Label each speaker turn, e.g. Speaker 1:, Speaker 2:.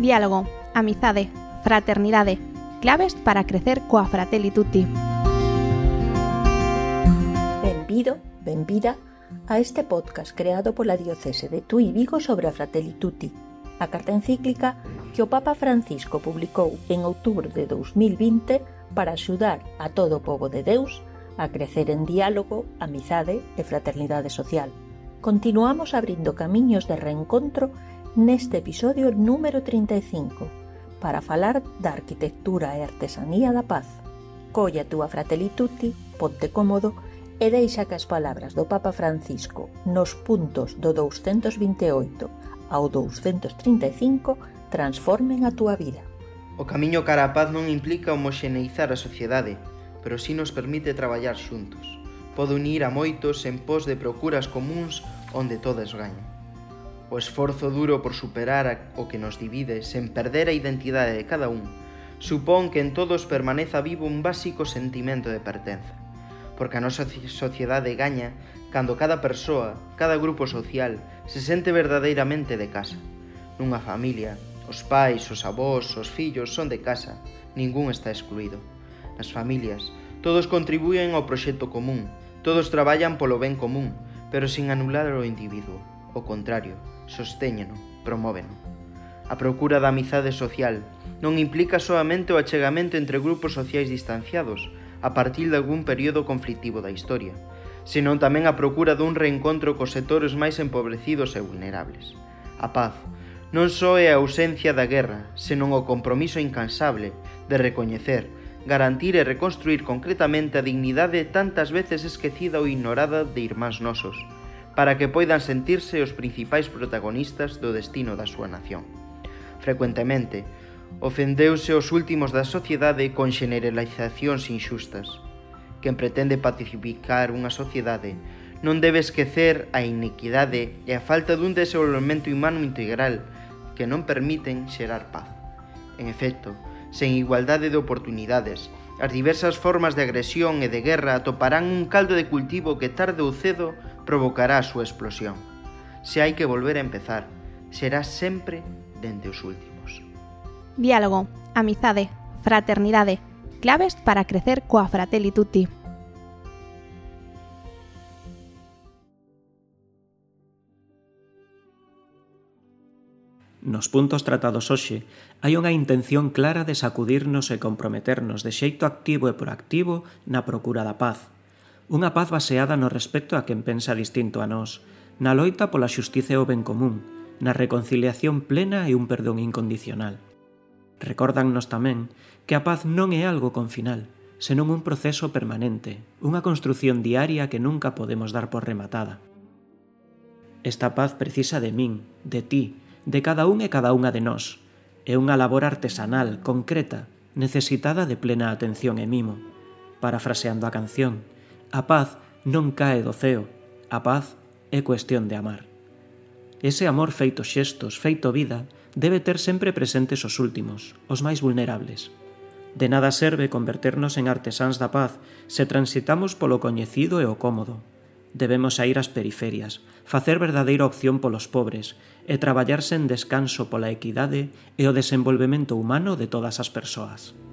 Speaker 1: Diálogo, amizade, fraternidade, claves para crecer coa Fratelli Tutti.
Speaker 2: Benvido, benvida a este podcast creado pola Diocese de Tui Vigo sobre a Fratelli Tutti, a carta encíclica que o Papa Francisco publicou en outubro de 2020 para axudar a todo o pobo de Deus a crecer en diálogo, amizade e fraternidade social. Continuamos abrindo camiños de reencontro neste episodio número 35 para falar da arquitectura e artesanía da paz. Colla a túa Fratelli Tutti, ponte cómodo e deixa que as palabras do Papa Francisco nos puntos do 228 ao 235 transformen a túa vida.
Speaker 3: O camiño cara á paz non implica homoxeneizar a sociedade, pero si nos permite traballar xuntos. Pode unir a moitos en pos de procuras comuns onde todos gañan. O esforzo duro por superar o que nos divide sen perder a identidade de cada un supón que en todos permaneza vivo un básico sentimento de pertenza, porque a nosa sociedade gaña cando cada persoa, cada grupo social se sente verdadeiramente de casa. Nunha familia, os pais, os avós, os fillos son de casa, ningún está excluído. Nas familias, todos contribúen ao proxecto común, todos traballan polo ben común, pero sin anular o individuo. O contrario, sostéñeno, promóveno. A procura da amizade social non implica soamente o achegamento entre grupos sociais distanciados a partir de algún período conflictivo da historia, senón tamén a procura dun reencontro cos sectores máis empobrecidos e vulnerables. A paz non só é a ausencia da guerra, senón o compromiso incansable de recoñecer, garantir e reconstruir concretamente a dignidade tantas veces esquecida ou ignorada de irmáns nosos, para que poidan sentirse os principais protagonistas do destino da súa nación. Frecuentemente, ofendeuse os últimos da sociedade con generalizacións inxustas. Quen pretende pacificar unha sociedade non debe esquecer a inequidade e a falta dun desenvolvemento humano integral que non permiten xerar paz. En efecto, sen igualdade de oportunidades, as diversas formas de agresión e de guerra atoparán un caldo de cultivo que tarde ou cedo provocará a súa explosión. Se hai que volver a empezar, será sempre dende os últimos.
Speaker 1: Diálogo, amizade, fraternidade, claves para crecer coa Fratelli Tutti.
Speaker 4: Nos puntos tratados hoxe, hai unha intención clara de sacudirnos e comprometernos de xeito activo e proactivo na procura da paz. Unha paz baseada no respecto a quen pensa distinto a nós, na loita pola xustiza e o ben común, na reconciliación plena e un perdón incondicional. Recórdannos tamén que a paz non é algo con final, senón un proceso permanente, unha construción diaria que nunca podemos dar por rematada. Esta paz precisa de min, de ti, de cada un e cada unha de nós. É unha labor artesanal, concreta, necesitada de plena atención e mimo. Parafraseando a canción, a paz non cae do ceo, a paz é cuestión de amar. Ese amor feito xestos, feito vida, debe ter sempre presentes os últimos, os máis vulnerables. De nada serve converternos en artesáns da paz se transitamos polo coñecido e o cómodo. Debemos saír ás periferias, facer verdadeira opción polos pobres e traballar sen descanso pola equidade e o desenvolvemento humano de todas as persoas.